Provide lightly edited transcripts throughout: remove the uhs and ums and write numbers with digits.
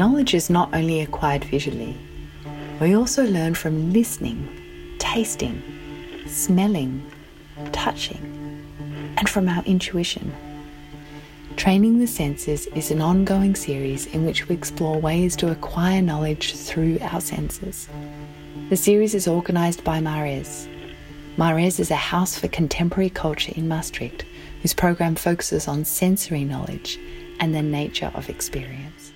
Knowledge is not only acquired visually, we also learn from listening, tasting, smelling, touching, and from our intuition. Training the Senses is an ongoing series in which we explore ways to acquire knowledge through our senses. The series is organised by Mares. Mares is a house for contemporary culture in Maastricht, whose program focuses on sensory knowledge and the nature of experience.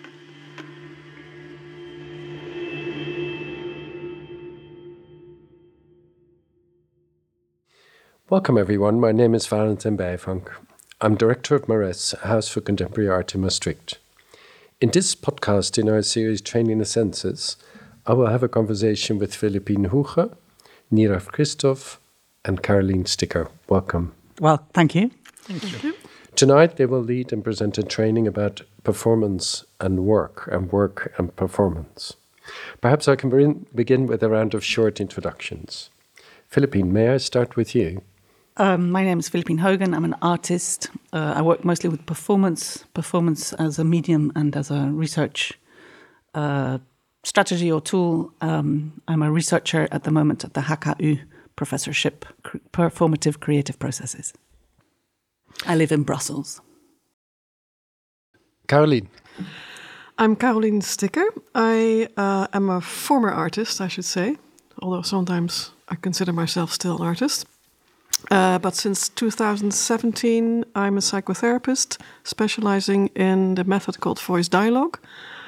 Welcome everyone, my name is Valentin Bijvank. I'm director of Mares, a house for contemporary art in Maastricht. In this podcast in our series Training the Senses, I will have a conversation with Philippine Huge, Nirav Christoph and Caroline Sticker. Welcome. Well, thank you. Thank you. Tonight they will lead and present a training about performance and work and performance. Perhaps I can begin with a round of short introductions. Philippine, may I start with you? My name is Philippine Hogan. I'm an artist. I work mostly with performance as a medium and as a research strategy or tool. I'm a researcher at the moment at the HKU professorship, Performative Creative Processes. I live in Brussels. Caroline. I'm Caroline Sticker. I am a former artist, I should say, although sometimes I consider myself still an artist. But since 2017, I'm a psychotherapist specializing in the method called voice dialogue.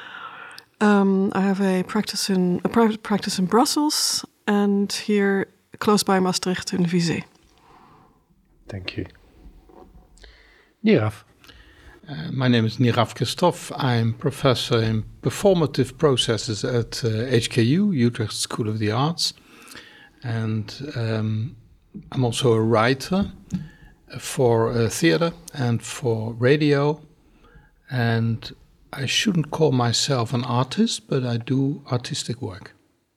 I have a private practice in Brussels and here close by Maastricht in Vizé. Thank you. Nirav. My name is Nirav Christoph. I'm professor in performative processes at HKU, Utrecht School of the Arts. And I'm also a writer for theatre and for radio. And I shouldn't call myself an artist, but I do artistic work.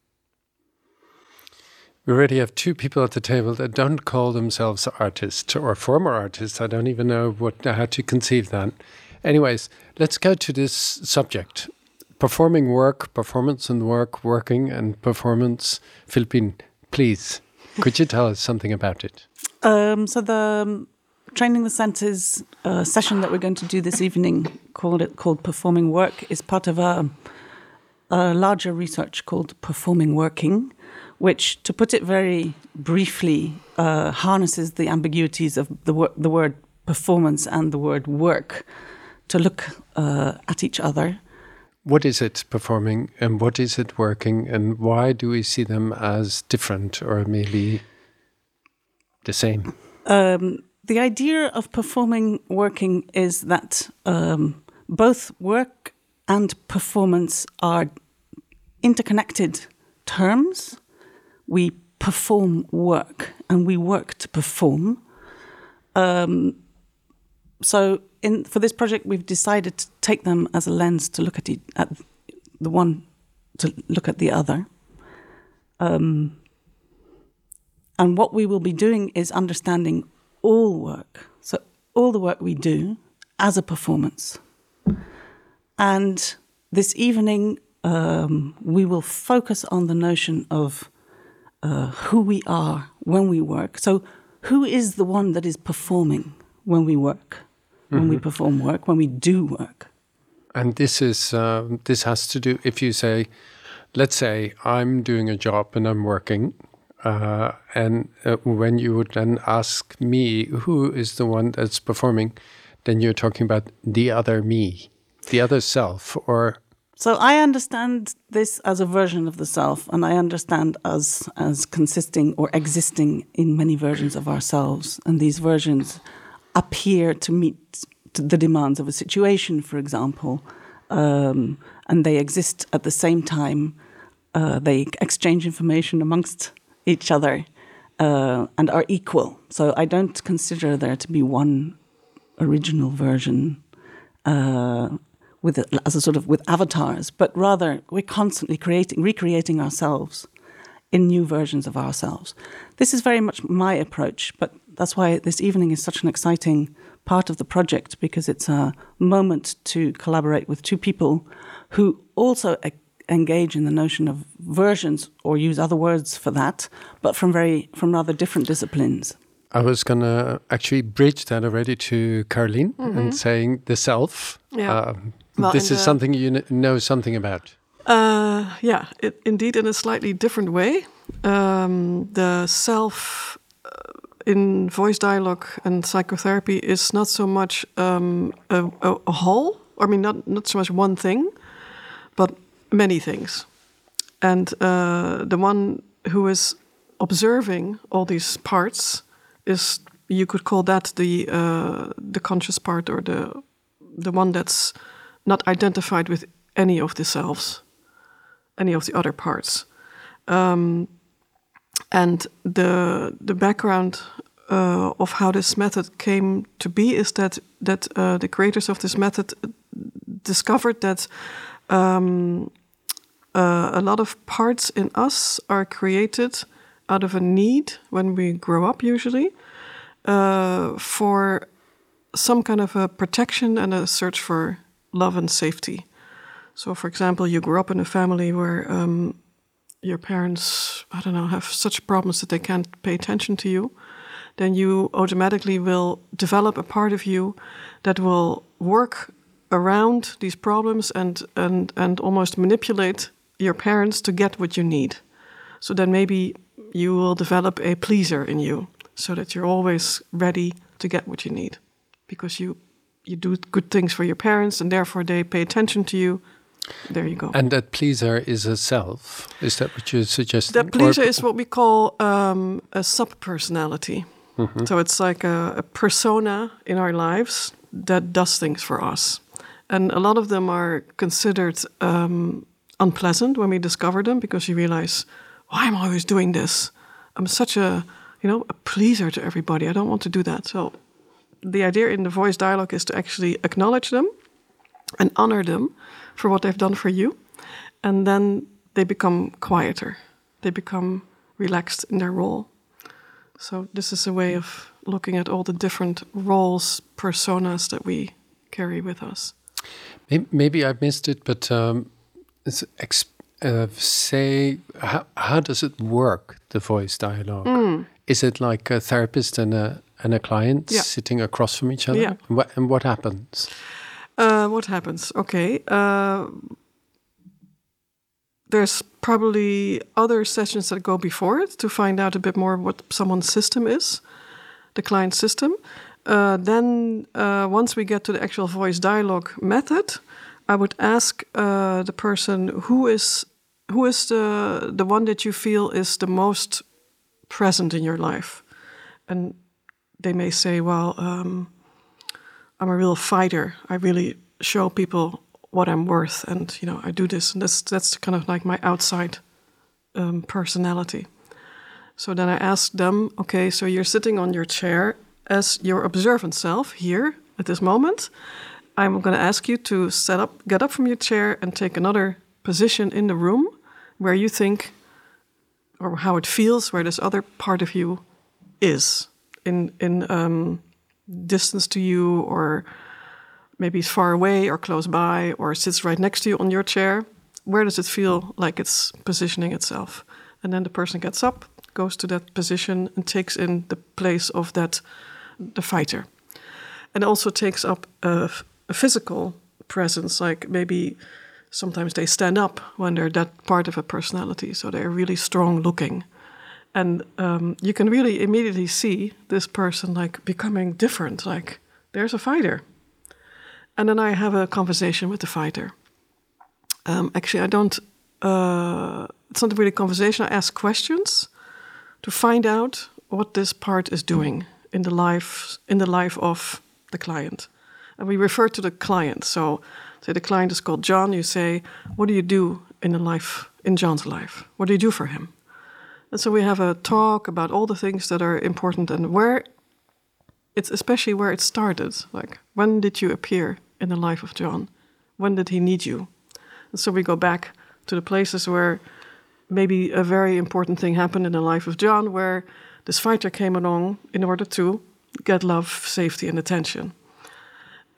We already have two people at the table that don't call themselves artists or former artists. I don't even know how to conceive that. Anyways, let's go to this subject. Performing work, performance and work, working and performance. Philippine, please, could you tell us something about it? So the Training the Senses session that we're going to do this evening, called Performing Work, is part of a larger research called Performing Working, which, to put it very briefly, harnesses the ambiguities of the word performance and the word work to look at each other. What is it performing and what is it working, and why do we see them as different or maybe the same? The idea of performing working is that both work and performance are interconnected terms. We perform work and we work to perform. For this project, we've decided to take them as a lens to look at the one, to look at the other. And what we will be doing is understanding all work. So all the work we do as a performance. And this evening, we will focus on the notion of who we are when we work. So who is the one that is performing when we work, when we perform work, when we do work? And this has to do, if you say, let's say I'm doing a job and I'm working, and when you would then ask me who is the one that's performing, then you're talking about the other me, the other self, or... So I understand this as a version of the self, and I understand as consisting or existing in many versions of ourselves. And these versions appear to meet the demands of a situation, for example, and they exist at the same time. They exchange information amongst each other and are equal. So I don't consider there to be one original version with avatars, but rather we're constantly recreating ourselves in new versions of ourselves. This is very much my approach, but that's why this evening is such an exciting part of the project because it's a moment to collaborate with two people who also engage in the notion of versions or use other words for that, but from rather different disciplines. I was going to actually bridge that already to Caroline and saying the self. Yeah. This is something you know something about. Indeed, in a slightly different way. The self in voice dialogue and psychotherapy is not so much a whole. I mean, not so much one thing, but many things. And the one who is observing all these parts is, you could call that the conscious part, or the one that's not identified with any of the selves, any of the other parts. And the background of how this method came to be is that the creators of this method discovered that a lot of parts in us are created out of a need when we grow up, usually, for some kind of a protection and a search for love and safety. So, for example, you grew up in a family where your parents, I don't know, have such problems that they can't pay attention to you, then you automatically will develop a part of you that will work around these problems and almost manipulate your parents to get what you need. So then maybe you will develop a pleaser in you, so that you're always ready to get what you need, because you do good things for your parents and therefore they pay attention to you. There you go. And that pleaser is a self. Is that what you're suggesting? That pleaser is what we call a sub-personality. So it's like a persona in our lives that does things for us. And a lot of them are considered unpleasant when we discover them, because you realize, why am I always doing this? I'm such a pleaser to everybody. I don't want to do that. So the idea in the voice dialogue is to actually acknowledge them and honor them for what they've done for you. And then they become quieter. They become relaxed in their role. So this is a way of looking at all the different roles, personas that we carry with us. Maybe I missed it, but say, how does it work, the voice dialogue? Is it like a therapist and a client sitting across from each other? Yeah. And what happens? What happens? Okay. There's probably other sessions that go before it to find out a bit more what someone's system is, the client's system. Then once we get to the actual voice dialogue method, I would ask the person who is the one that you feel is the most present in your life. And they may say, well, I'm a real fighter. I really show people what I'm worth, and I do this, and that's kind of like my outside personality. So then I ask them, okay, so you're sitting on your chair as your observant self here at this moment. I'm going to ask you to get up from your chair and take another position in the room where you think, or how it feels, where this other part of you is in distance to you, or maybe it's far away or close by, or sits right next to you on your chair. Where does it feel like it's positioning itself? And then the person gets up, goes to that position, and takes in the place of the fighter. And also takes up a physical presence, like maybe sometimes they stand up when they're that part of a personality, so they're really strong looking. And you can really immediately see this person like becoming different, like there's a fighter. And then I have a conversation with the fighter. Actually, I don't, it's not really a conversation, I ask questions to find out what this part is doing in the life of the client. And we refer to the client. So say the client is called John, you say, what do you do in John's life? What do you do for him? And so we have a talk about all the things that are important and especially where it started. Like, when did you appear in the life of John? When did he need you? And so we go back to the places where maybe a very important thing happened in the life of John, where this fighter came along in order to get love, safety, and attention.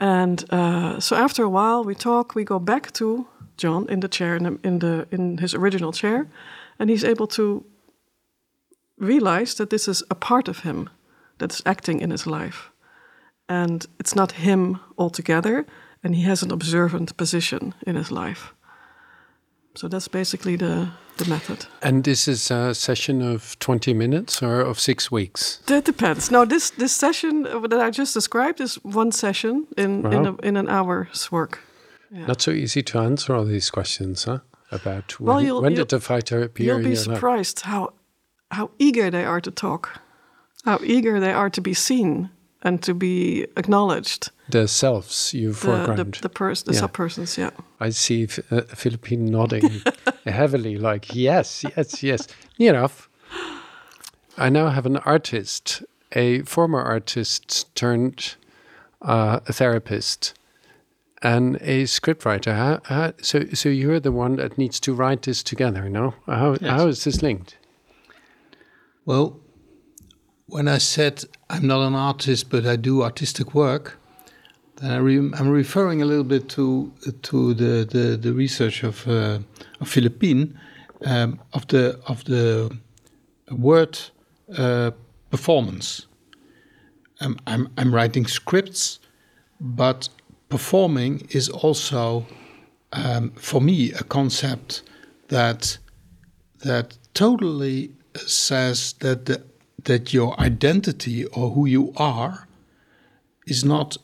And so after a while, we talk. We go back to John in the chair, in his original chair, and he's able to realize that this is a part of him that's acting in his life, and it's not him altogether. And he has an observant position in his life. So that's basically the method. And this is a session of 20 minutes or of 6 weeks? That depends. Now, this session that I just described is one session in an hour's work. Yeah. Not so easy to answer all these questions, huh? About when did the fighter appear You'll in be your life? surprised how eager they are to talk, how eager they are to be seen and to be acknowledged. The selves you foreground. The sub-persons, yeah. I see Philippine nodding heavily, like, yes. Near enough. I now have an artist, a former artist turned a therapist, and a scriptwriter. So you're the one that needs to write this together, no? How is this linked? Well, when I said I'm not an artist, but I do artistic work, then I'm referring a little bit to the research of Philippine of the word performance. I'm writing scripts, but performing is also for me a concept that totally says that your identity or who you are is not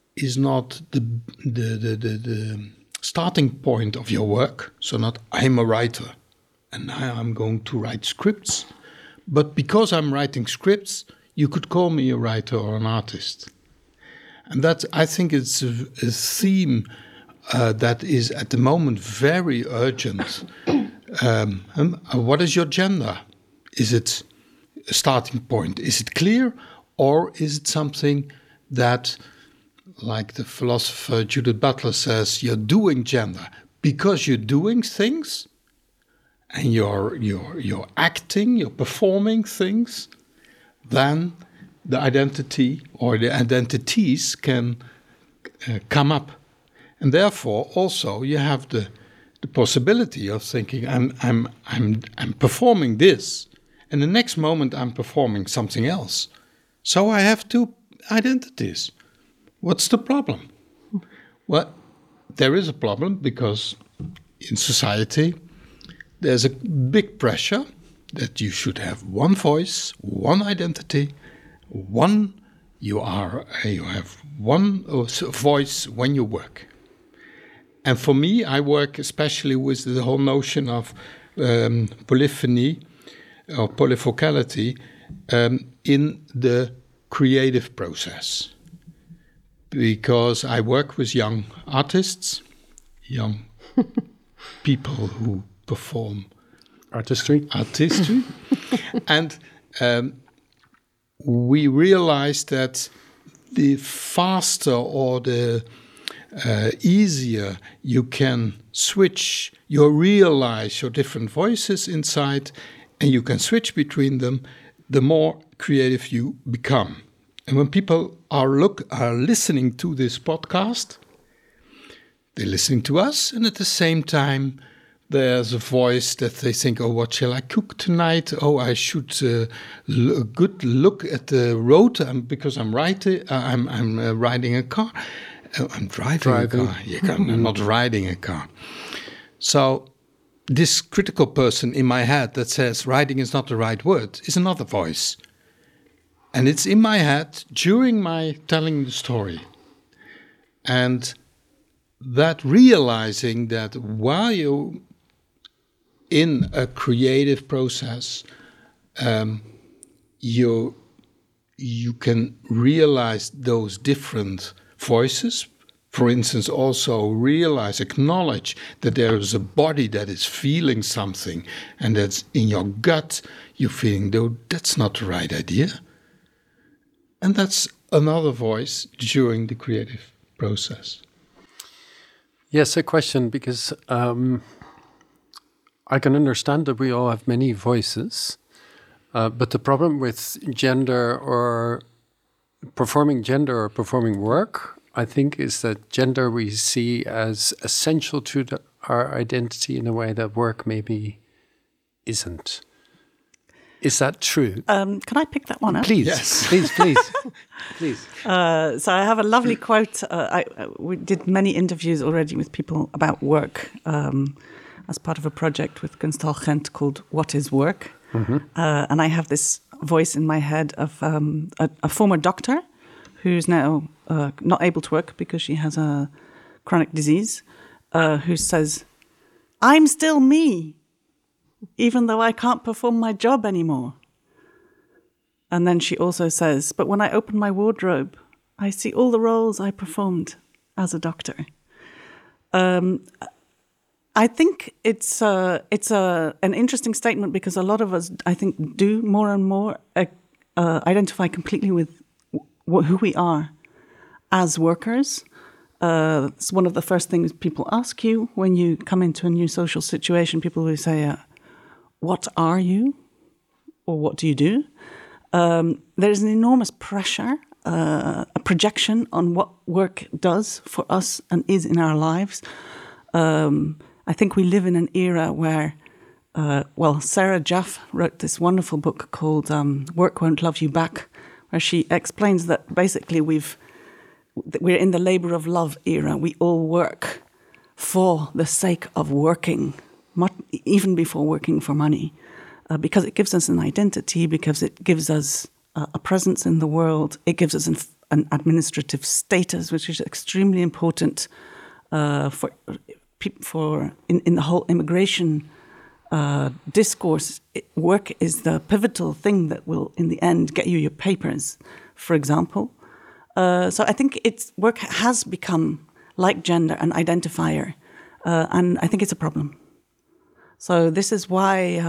the starting point of your work. So not I'm a writer and now I'm going to write scripts, but because I'm writing scripts, you could call me a writer or an artist. And that, I think, it's a theme that is at the moment very urgent. What is your gender? Is it a starting point? Is it clear? Or is it something that, like the philosopher Judith Butler says, you're doing gender because you're doing things and you're acting, you're performing things, then the identity or the identities can come up. And therefore also you have the possibility of thinking I'm performing this, and the next moment I'm performing something else. So I have two identities. What's the problem? Well, there is a problem because in society there's a big pressure that you should have one voice, one identity, you have one voice when you work. And for me, I work especially with the whole notion of polyphony or polyfocality in the creative process. Because I work with young artists, young people who perform artistry. And we realize that the faster or the easier you can switch, you realize your different voices inside, and you can switch between them, the more creative you become. And when people are listening to this podcast, they're listening to us, and at the same time, there's a voice that they think, oh, what shall I cook tonight? Oh, I should good look at the road because I'm riding a car. I'm driving a car. I'm not riding a car. So this critical person in my head that says riding is not the right word is another voice. And it's in my head during my telling the story. And that realizing that while you're in a creative process, you can realize those different voices. For instance, also acknowledge that there is a body that is feeling something, and that's in your gut, you're feeling, though, that's not the right idea. And that's another voice during the creative process. Yes, a question, because I can understand that we all have many voices, but the problem with gender or performing work I think, is that gender we see as essential to our identity in a way that work maybe isn't. Is that true? Can I pick that one up? Please, Yes. please. So I have a lovely quote. We did many interviews already with people about work as part of a project with Gunstal Gent called What is Work? And I have this voice in my head of a former doctor who's now not able to work because she has a chronic disease, who says, "I'm still me, even though I can't perform my job anymore." And then she also says, "But when I open my wardrobe, I see all the roles I performed as a doctor." I think it's an interesting statement because a lot of us, I think, do more and more identify completely with who we are as workers. It's one of the first things people ask you when you come into a new social situation. People will say, "What are you?" or "What do you do?" There's an enormous pressure, a projection on what work does for us and is in our lives. I think we live in an era where, Sarah Jaff wrote this wonderful book called Work Won't Love You Back, where she explains that basically we're in the labor of love era. We all work for the sake of working, even before working for money, because it gives us an identity, because it gives us a presence in the world. It gives us an administrative status, which is extremely important for in the whole immigration discourse. Work is the pivotal thing that will, in the end, get you your papers, for example. So I think work has become, like gender, an identifier, and I think it's a problem. So this is why,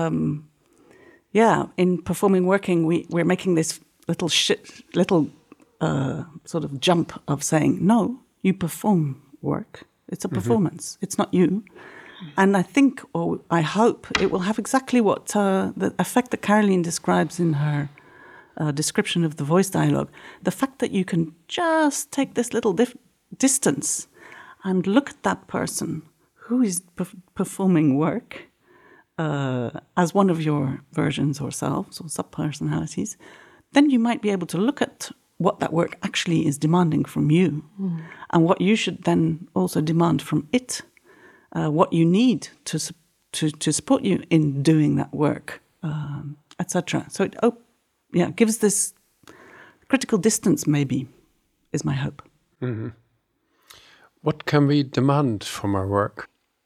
in performing working, we're making this little sort of jump of saying, no, you perform work. It's a performance. It's not you. And I think, or I hope, it will have exactly what the effect that Caroline describes in her description of the voice dialogue. The fact that you can just take this little distance and look at that person who is performing work as one of your versions or selves or sub-personalities, then you might be able to look at what that work actually is demanding from you, and what you should then also demand from it, what you need to support you in doing that work, etc. So it gives this critical distance, maybe, is my hope. Mm-hmm. What can we demand from our work?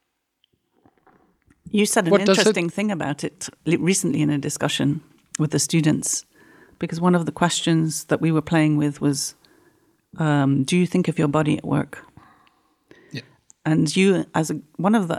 You said an interesting thing about it recently in a discussion with the students, because one of the questions that we were playing with was, do you think of your body at work? Yeah. And you, as one of the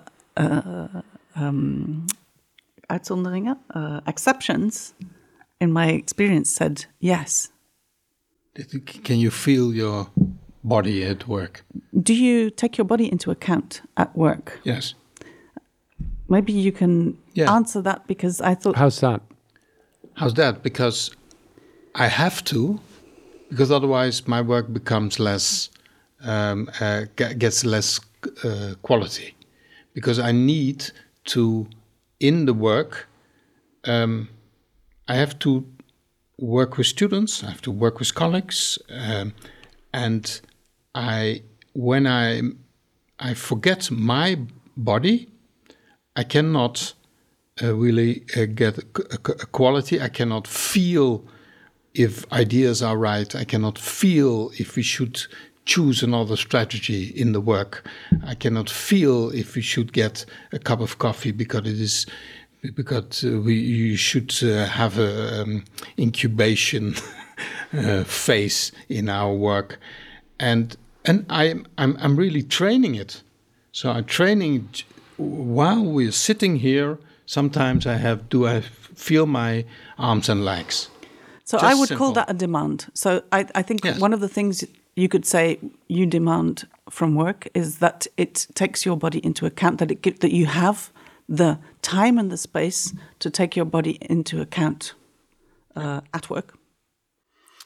uitzonderingen, exceptions, in my experience, said yes. Can you feel your body at work? Do you take your body into account at work? Yes. Maybe you can answer that, because I thought... How's that? How's that? Because I have to, because otherwise my work becomes less, gets less quality. Because I need to, in the work, I have to work with students, I have to work with colleagues, and when I forget my body, I cannot really get a quality. I cannot feel if ideas are right. I cannot feel if we should choose another strategy in the work. I cannot feel if we should get a cup of coffee because you should have a incubation phase in our work, and I'm really training it. So I'm training while we're sitting here. Sometimes do I feel my arms and legs? So I would call that a demand. So I think one of the things you could say you demand from work is that it takes your body into account, that you have the time and the space to take your body into account at work.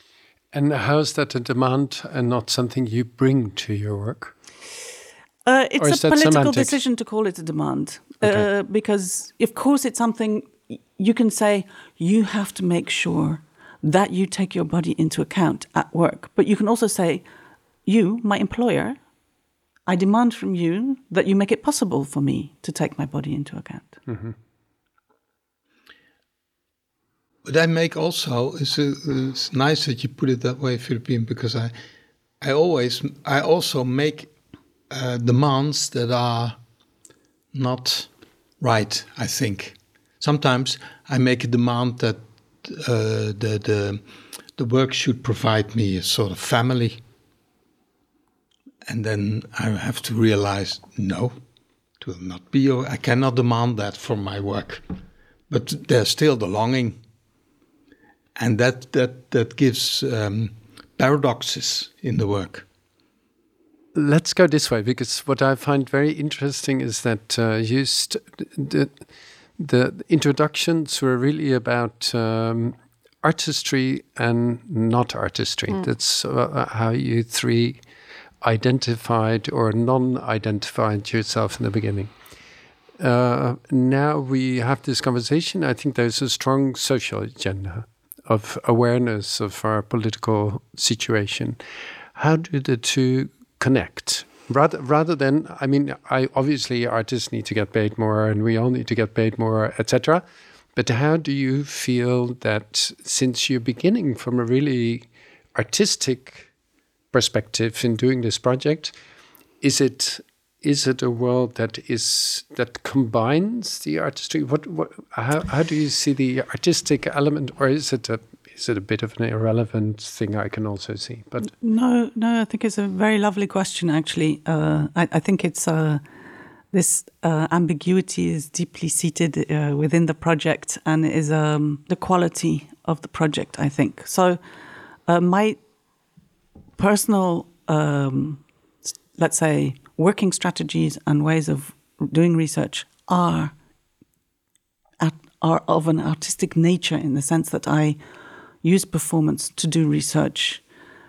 And how's that a demand and not something you bring to your work? It's a political semantic? decision to call it a demand. Okay. Because, of course, it's something you can say, you have to make sure that you take your body into account at work. But you can also say, you, my employer, I demand from you that you make it possible for me to take my body into account. Mm-hmm. But I make also, it's nice that you put it that way, Philippine, because I also make demands that are not right, I think. Sometimes I make a demand that the work should provide me a sort of family. And then I have to realize, no, it will not be, I cannot demand that from my work. But there's still the longing. And that gives paradoxes in the work. Let's go this way, because what I find very interesting is that the introductions were really about artistry and not artistry. That's how you three identified or non-identified yourself in the beginning. Now we have this conversation. I think there's a strong social agenda of awareness of our political situation. How do the two connect? Rather than, I mean, obviously artists need to get paid more and we all need to get paid more, etc. But how do you feel that since you're beginning from a really artistic perspective in doing this project, is it a world that combines the artistry? How do you see the artistic element, or is it a bit of an irrelevant thing I can also see? But No, I think it's a very lovely question, actually. I think it's this ambiguity is deeply seated within the project and is the quality of the project, I think. So my personal, let's say, working strategies and ways of doing research are of an artistic nature, in the sense that I use performance to do research.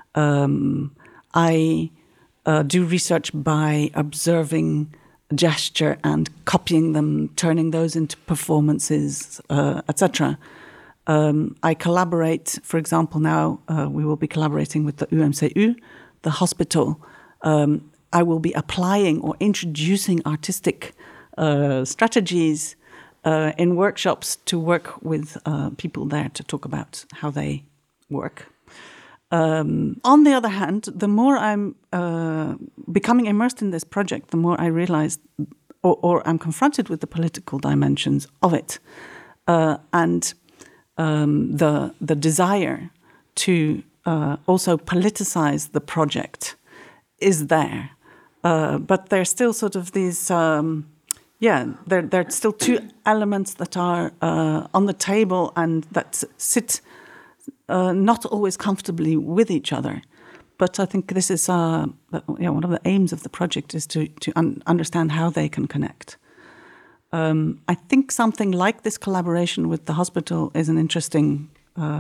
I do research by observing gesture and copying them, turning those into performances, etc. I collaborate, for example, now we will be collaborating with the UMCU, the hospital. I will be applying or introducing artistic strategies in workshops to work with people there to talk about how they work. On the other hand, the more I'm becoming immersed in this project, the more I realize or I'm confronted with the political dimensions of it. And the desire to also politicize the project is there. But there's still sort of these, there are still two elements that are on the table and that sit not always comfortably with each other. But I think this is one of the aims of the project is to understand how they can connect. I think something like this collaboration with the hospital is an interesting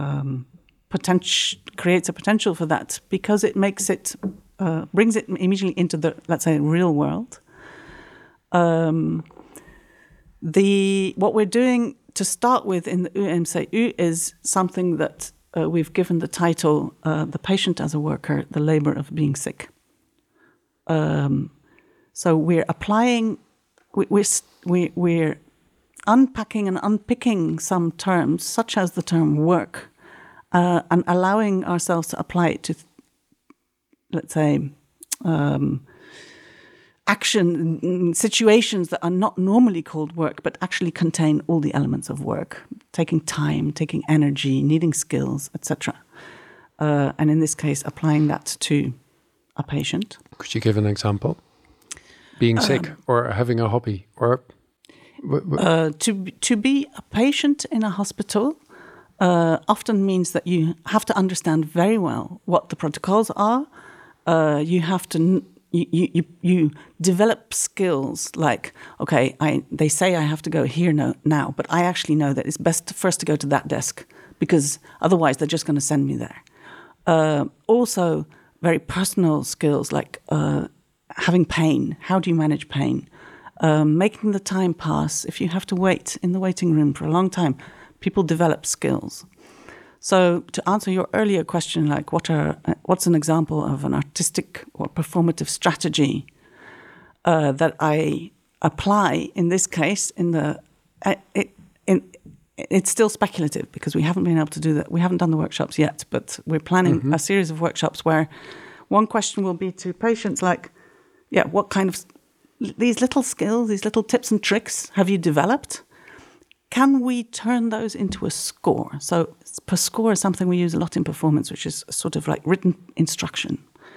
creates a potential for that, because it makes it brings it immediately into the, let's say, real world. What we're doing to start with in the UMCU is something that we've given the title "The Patient as a Worker: The Labor of Being Sick." So we're applying, we're unpacking and unpicking some terms, such as the term work, and allowing ourselves to apply it to, let's say, action situations that are not normally called work, but actually contain all the elements of work, taking time, taking energy, needing skills, etc. And in this case, applying that to a patient. Could you give an example? Being sick or having a hobby or... To be a patient in a hospital often means that you have to understand very well what the protocols are. You have to you develop skills like, okay, they say I have to go here now, but I actually know that it's best first to go to that desk, because otherwise they're just going to send me there. Also, very personal skills like having pain. How do you manage pain? Making the time pass. If you have to wait in the waiting room for a long time, people develop skills. So to answer your earlier question, like what's an example of an artistic or performative strategy that I apply in this case? It's still speculative because we haven't been able to do that. We haven't done the workshops yet, but we're planning a series of workshops where one question will be to patients like, what kind of these little skills, these little tips and tricks have you developed? Can we turn those into a score? So per score is something we use a lot in performance, which is sort of like written instruction.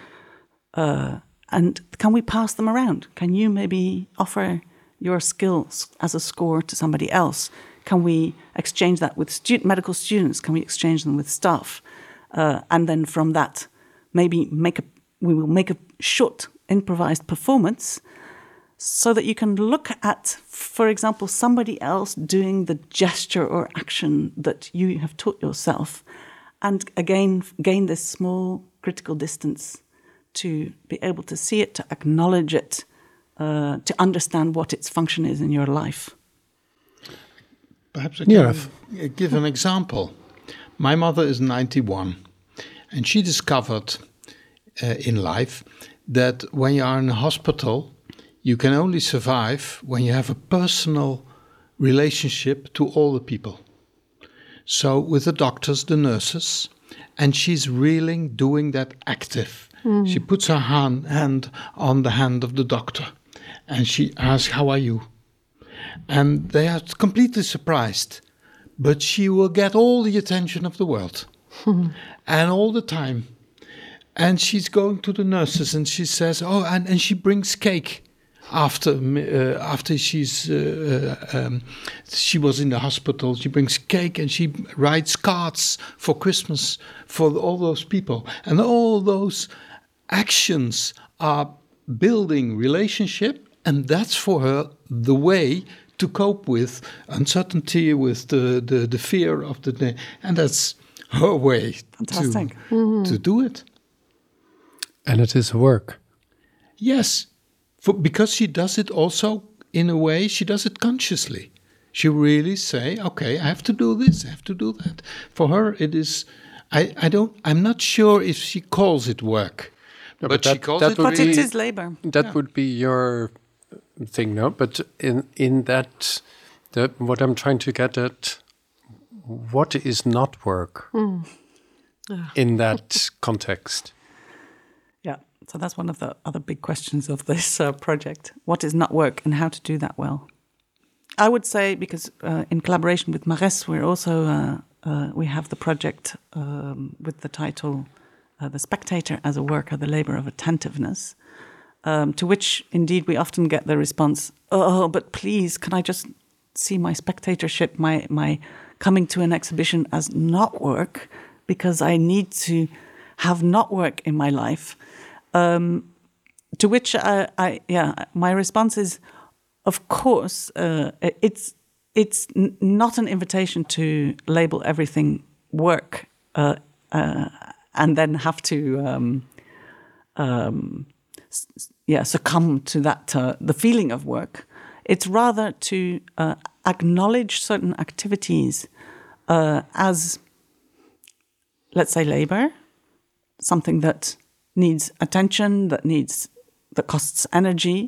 And can we pass them around? Can you maybe offer your skills as a score to somebody else? Can we exchange that with medical students? Can we exchange them with staff? And then from that, maybe we will make a short improvised performance so that you can look at, for example, somebody else doing the gesture or action that you have taught yourself, and again gain this small critical distance to be able to see it, to acknowledge it, to understand what its function is in your life. Perhaps I can give an example. My mother is 91, and she discovered in life that when you are in a hospital, you can only survive when you have a personal relationship to all the people. So with the doctors, the nurses, and she's really doing that active. She puts her hand on the hand of the doctor, and she asks, "How are you?" And they are completely surprised, but she will get all the attention of the world, and all the time. And she's going to the nurses, and she says, and she brings cake after she was in the hospital. She brings cake, and she writes cards for Christmas for all those people. And all those actions are building relationship, and that's for her the way to cope with uncertainty, with the fear of the day. And that's her way to do it. And it is work. Yes, because she does it also in a way, she does it consciously. She really say, okay, I have to do this, I have to do that. For her, it is, I'm not sure if she calls it work. No, but she calls it... But it is labor. That would be your thing, no? But in that, what I'm trying to get at, what is not work in that context? Yeah, so that's one of the other big questions of this project. What is not work and how to do that well? I would say, because in collaboration with Mares, we're also, we have the project with the title The Spectator as a Worker, the Labor of Attentiveness, to which indeed we often get the response, oh, but please, can I just see my spectatorship, my coming to an exhibition as not work, because I need to have not work in my life. To which my response is, of course, it's not an invitation to label everything work and then have to succumb to that the feeling of work. It's rather to acknowledge certain activities as, let's say, labor, something that needs attention, that costs energy,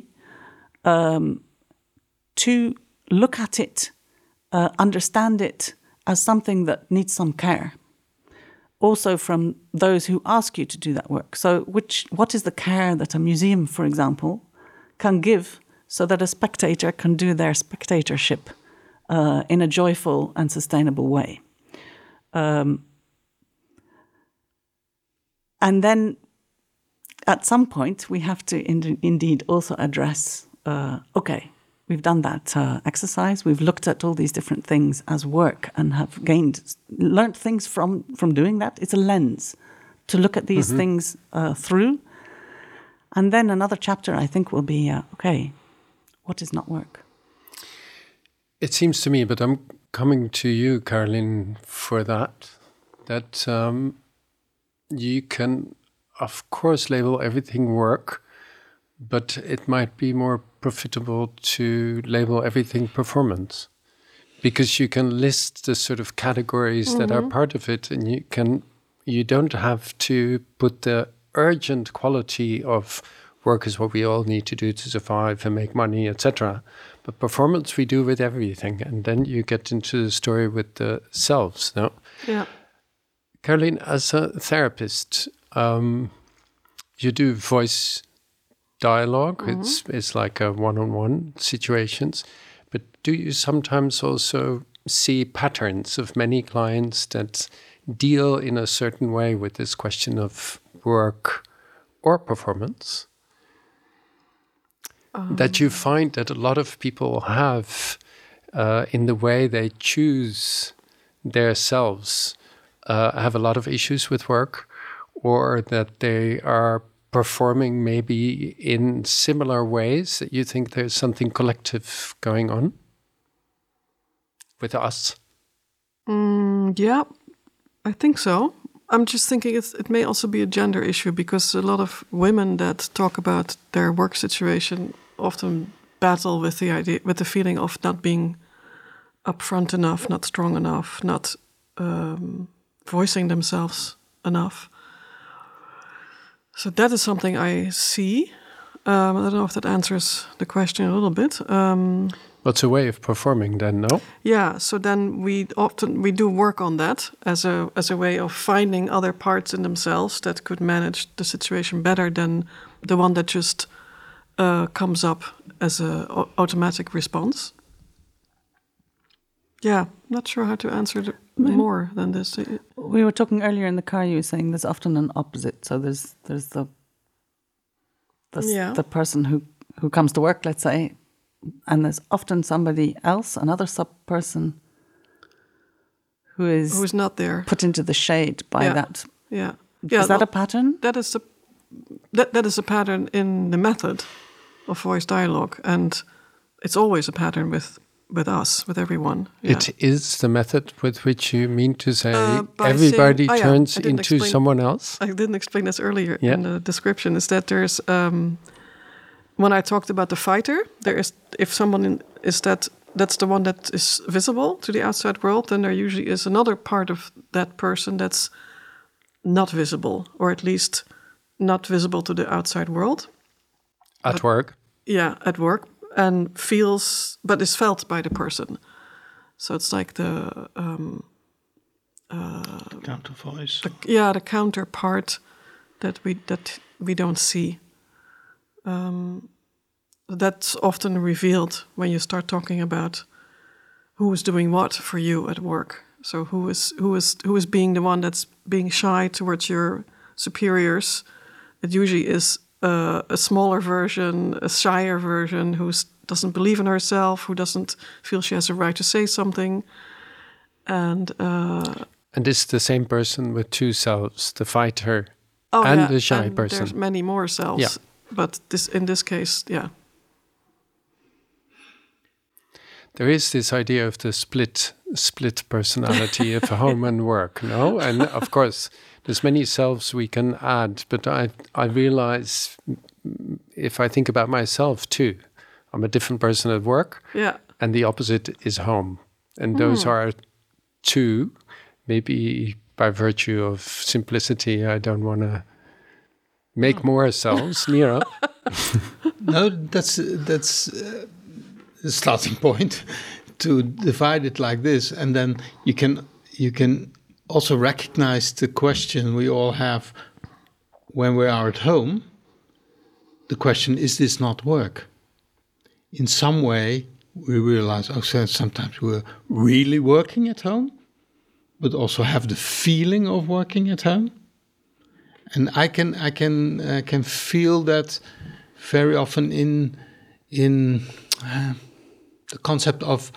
to look at it, understand it as something that needs some care. Also from those who ask you to do that work. So what is the care that a museum, for example, can give so that a spectator can do their spectatorship in a joyful and sustainable way? And then at some point, we have to indeed also address, okay, we've done that exercise, we've looked at all these different things as work and have learned things from doing that. It's a lens to look at these things through. And then another chapter, I think, will be, okay, what is not work? It seems to me, but I'm coming to you, Caroline, for that you can, of course, label everything work, but it might be more profitable to label everything performance, because you can list the sort of categories that are part of it, and you don't have to put the urgent quality of work is what we all need to do to survive and make money, etc. But performance we do with everything, and then you get into the story with the selves. No, Yeah. Caroline, as a therapist, you do voice dialogue. It's like a one-on-one situations. But do you sometimes also see patterns of many clients that deal in a certain way with this question of work or performance? That you find that a lot of people have in the way they choose their selves, have a lot of issues with work, or that they are performing maybe in similar ways that you think there's something collective going on with us? Yeah, I think so. I'm just thinking it may also be a gender issue, because a lot of women that talk about their work situation often battle with the feeling of not being upfront enough, not strong enough, not voicing themselves enough. So that is something I see. I don't know if that answers the question a little bit. What's a way of performing then, no? Yeah, so then we do work on that as a way of finding other parts in themselves that could manage the situation better than the one that just comes up as a automatic response. Yeah, not sure how to answer more than this. We were talking earlier in the car. You were saying there's often an opposite. So there's the person who comes to work, let's say, and there's often somebody else, another sub-person, who's not there, put into the shade by that. Yeah. Is that a pattern? That is a pattern in the method of voice dialogue, and it's always a pattern with us, with everyone. Yeah. It is the method with which you mean to say everybody turns into someone else? I didn't explain this earlier in the description. Is that there's when I talked about the fighter, there is, if someone is that's the one that is visible to the outside world, then there usually is another part of that person that's not visible, or at least not visible to the outside world. At work? Yeah, at work. And but is felt by the person. So it's like the counter voice. The counterpart that we don't see. That's often revealed when you start talking about who is doing what for you at work. So who is being the one that's being shy towards your superiors. It usually is a smaller version, a shyer version, who doesn't believe in herself, who doesn't feel she has a right to say something. And this is the same person with two selves, the fighter and the shy person. There's many more selves, but in this case, yeah. There is this idea of the split personality of home and work, no? And of course, there's many selves we can add, but I realize, if I think about myself too, I'm a different person at work, and the opposite is home. And those are two, maybe by virtue of simplicity, I don't want to make more selves, Mira. No, that's the starting point, to divide it like this, and then you can also recognize the question we all have when we are at home. The question, is this not work? In some way, we realize, sometimes we're really working at home, but also have the feeling of working at home. And I can feel that very often in the concept of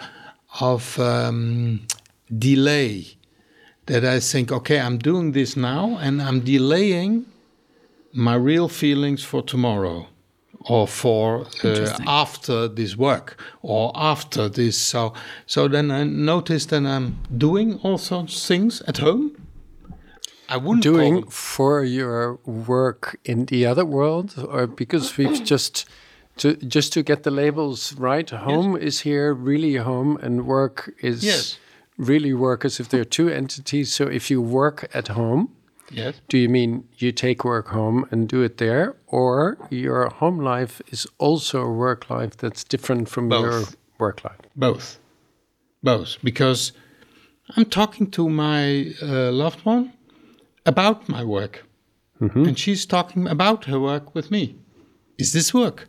delay. That I think, okay, I'm doing this now, and I'm delaying my real feelings for tomorrow, or for after this work, or after this. So then I notice that I'm doing all those things at home, I wouldn't doing call them. for your work in the other world, or because we've just to get the labels right? Home is here, really home, and work is really work, as if there are two entities. So if you work at home, do you mean you take work home and do it there, or your home life is also a work life that's different from your work life? Both, because I'm talking to my loved one about my work, and she's talking about her work with me. Is this work?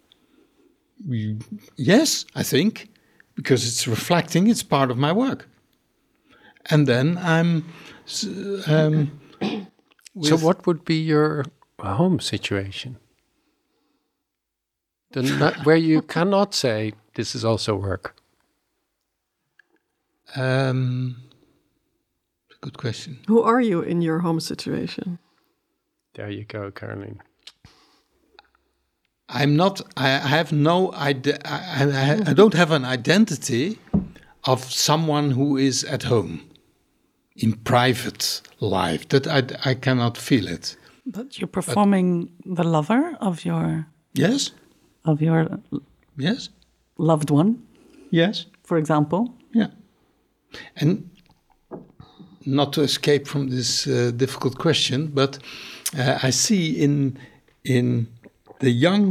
Yes, I think, because it's reflecting, it's part of my work. And then I'm... so what would be your home situation? Where you cannot say, this is also work. Good question. Who are you in your home situation? There you go, Caroline. I'm not. I have no. I don't have an identity of someone who is at home, in private life. That I cannot feel it. But you're performing the lover of your yes, yes, loved one. Yes, for example. Yeah, and not to escape from this difficult question, but I see in the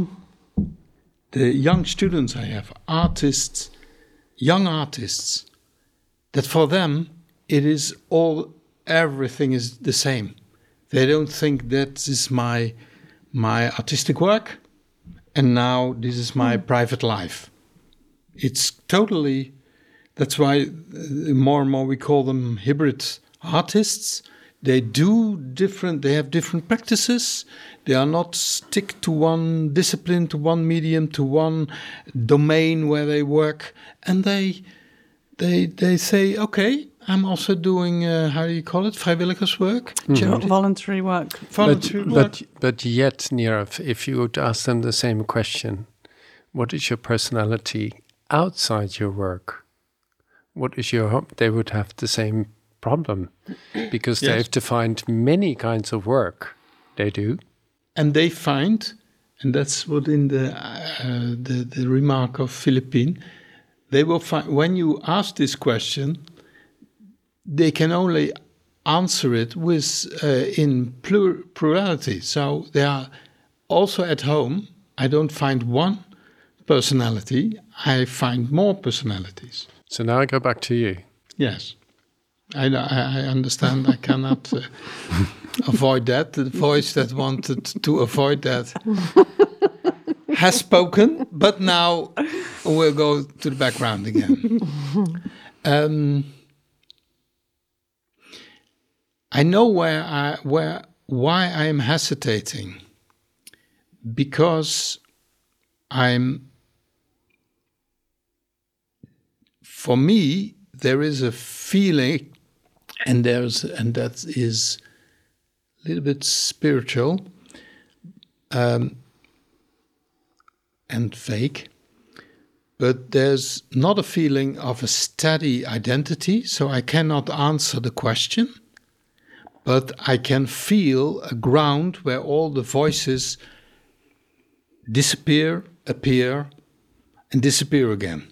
young students I have, young artists, that for them everything is the same. They don't think that is my artistic work, and now this is my private life. It's totally. That's why more and more we call them hybrid artists. They have different practices. They are not stick to one discipline, to one medium, to one domain where they work. And they say, okay, I'm also doing, how do you call it, vrijwilligerswerk? Voluntary work. But yet, Nirav, if you would ask them the same question, what is your personality outside your work? What is your home? They would have the same problem, because they have to find many kinds of work. They do, and they find, and that's what in the remark of Philippine, they will find when you ask this question, they can only answer it with in plurality. So they are also at home. I don't find one personality. I find more personalities. So now I go back to you. Yes. I understand. I cannot avoid that. The voice that wanted to avoid that has spoken, but now we'll go to the background again. I know why I am hesitating, because for me, there is a feeling, and that is a little bit spiritual and fake, but there's not a feeling of a steady identity, so I cannot answer the question, but I can feel a ground where all the voices disappear, appear, and disappear again.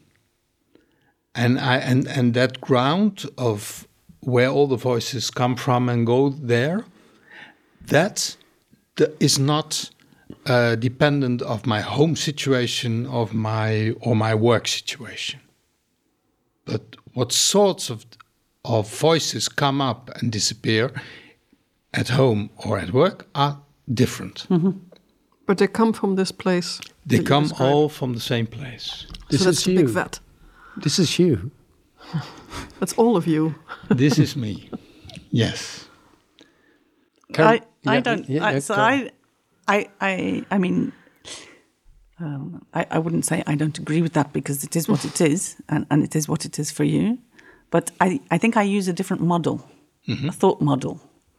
And that ground of where all the voices come from and go there, that is not dependent of my home situation or my work situation. But what sorts of voices come up and disappear at home or at work are different. Mm-hmm. But they come from this place. They come all from the same place. So that's a big vat. This is you. That's all of you. This is me. Yes. I mean, I wouldn't say I don't agree with that, because it is what it is, and it is what it is for you. But I think I use a different model, a thought model,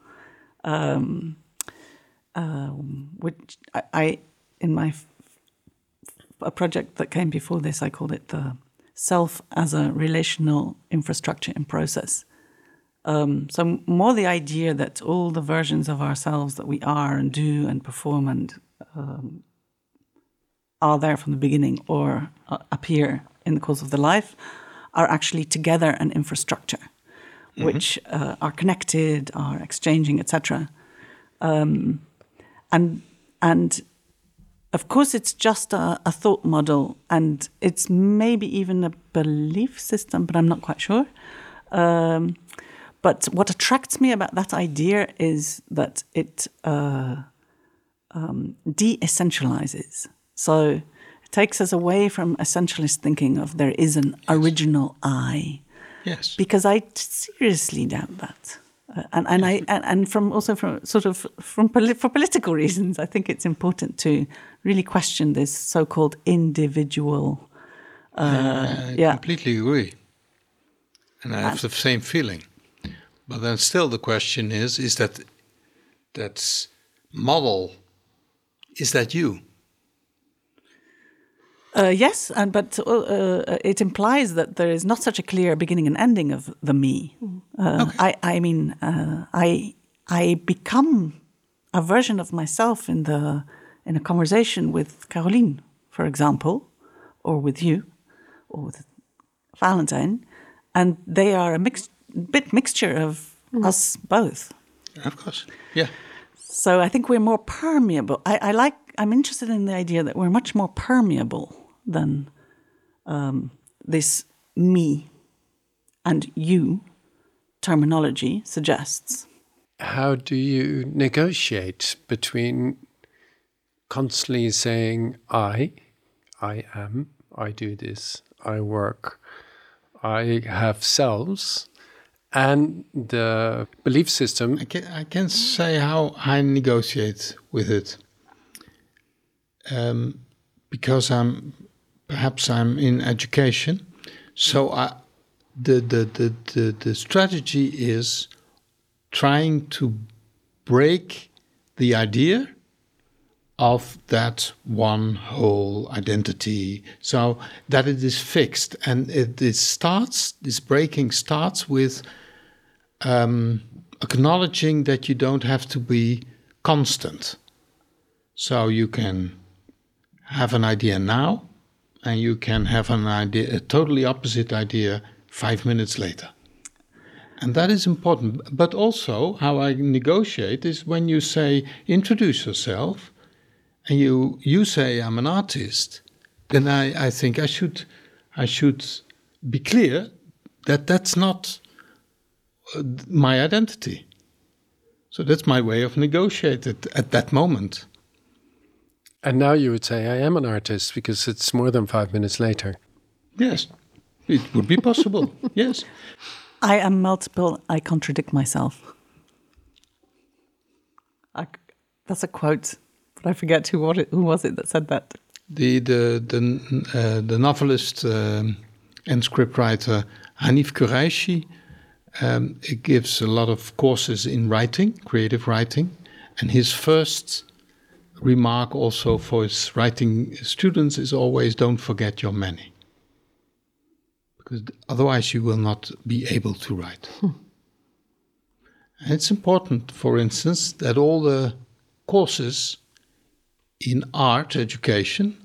which I in a project that came before this, I called it the self as a relational infrastructure in process. So more the idea that all the versions of ourselves that we are and do and perform and are there from the beginning or appear in the course of the life are actually together an infrastructure, which are connected, are exchanging, etc. And of course, it's just a thought model, and it's maybe even a belief system, but I'm not quite sure. But what attracts me about that idea is that it de-essentializes. So it takes us away from essentialist thinking of there is an original I. Yes. Because I seriously doubt that. For political reasons, I think it's important to really question this so-called individual. I completely agree, and I have the same feeling. But then, still, the question is that model? Is that you? Yes, but it implies that there is not such a clear beginning and ending of the me. Okay. I become a version of myself in a conversation with Caroline, for example, or with you, or with Valentine, and they are a mixture of us both. Of course, yeah. So I think we're more permeable. I'm interested in the idea that we're much more permeable than this me and you terminology suggests. How do you negotiate between constantly saying I am, I do this, I work, I have selves, and the belief system? I can say how I negotiate with it. Because I'm in education, so the strategy is trying to break the idea of that one whole identity, so that it is fixed, and this breaking starts with acknowledging that you don't have to be constant. So you can have an idea now, and you can have a totally opposite idea 5 minutes later. And that is important. But also, how I negotiate is when you say, introduce yourself, and you say, I'm an artist, then I think I should be clear that that's not my identity. So that's my way of negotiating at that moment. And now you would say, I am an artist, because it's more than 5 minutes later. Yes, it would be possible. Yes. I am multiple, I contradict myself. That's a quote, but I forget who was it that said that. The novelist and scriptwriter Hanif Kureishi gives a lot of courses in writing, creative writing, and his first remark also for his writing students is always, don't forget your many. Because otherwise you will not be able to write. And it's important, for instance, that all the courses in art education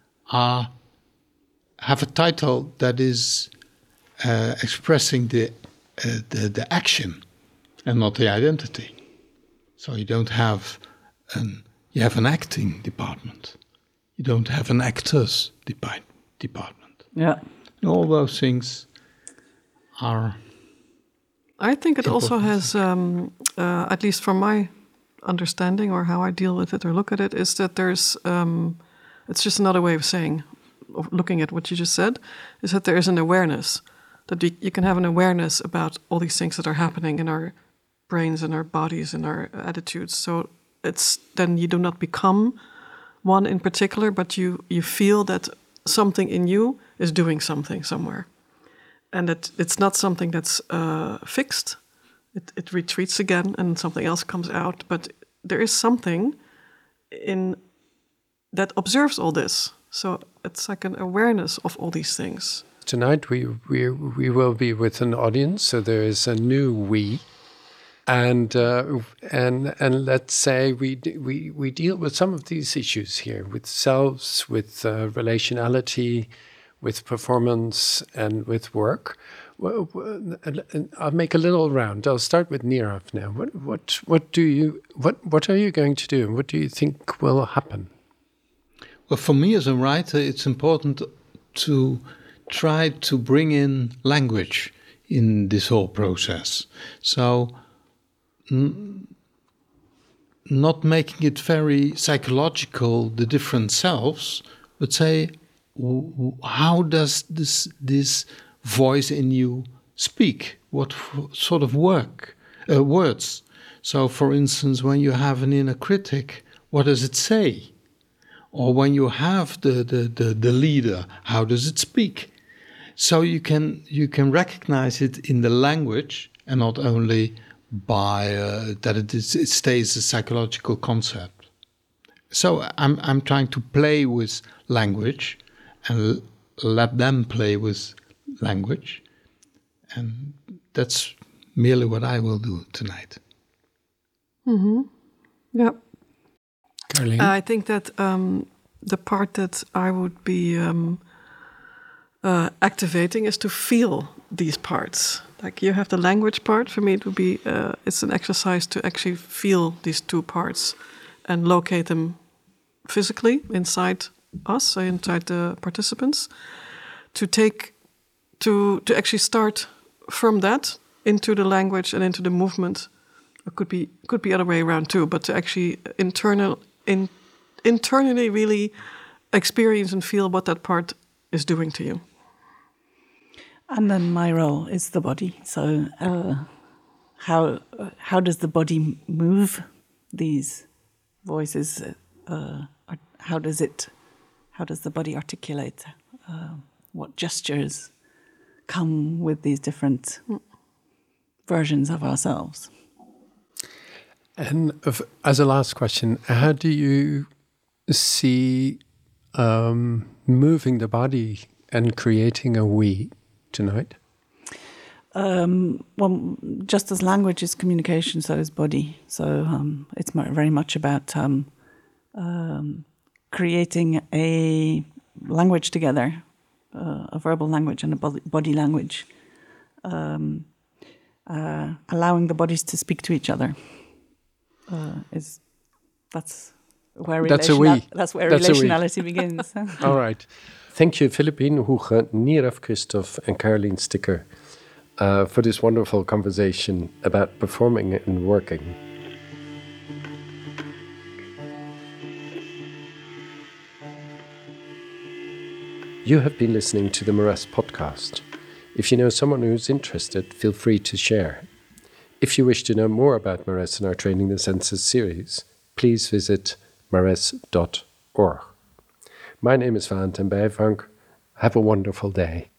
have a title that is expressing the action and not the identity. So you don't have you have an acting department. You don't have an actors department. Yeah. And all those things are. I think it also has, at least from my understanding or how I deal with it or look at it, is that there's, it's just another way of saying, of looking at what you just said, is that there is an awareness, that you can have an awareness about all these things that are happening in our brains and our bodies and our attitudes. So it's then you do not become one in particular, but you feel that something in you is doing something somewhere. And it's not something that's fixed. It retreats again and something else comes out. But there is something that observes all this. So it's like an awareness of all these things. Tonight we will be with an audience, so there is a new we, and let's say we deal with some of these issues here, with selves, with relationality, with performance, and with work. Well, I'll make a little round. I'll start with Nirav now. What are you going to do? What do you think will happen? Well, for me as a writer, it's important to try to bring in language in this whole process. So not making it very psychological, the different selves, but say, how does this voice in you speak? What sort of words? So, for instance, when you have an inner critic, what does it say? Or when you have the leader, how does it speak? So you can recognize it in the language, and not only by that it stays a psychological concept. So I'm trying to play with language and let them play with language, and that's merely what I will do tonight. Mm-hmm. Yeah. Caroline? I think that the part that I would be activating is to feel these parts. Like you have the language part. For me, it would be it's an exercise to actually feel these two parts and locate them physically inside us, inside the participants. To actually start from that into the language and into the movement. It could be other way around too, but to actually internally really experience and feel what that part is doing to you. And then my role is the body. So how does the body move these voices? How does the body articulate? What gestures come with these different versions of ourselves? And as a last question, how do you see moving the body and creating a we tonight? Well, just as language is communication, so is body. So it's very much about creating a language together, a verbal language and a body language, allowing the bodies to speak to each other. That's where relationality begins. All right. Thank you, Philippine Huge, Nirav Christoph, and Caroline Sticker for this wonderful conversation about performing and working. You have been listening to the Maresse podcast. If you know someone who's interested, feel free to share. If you wish to know more about Maresse and our Training the Senses series, please visit maresse.org. My name is Valentin Bijvank. Have a wonderful day.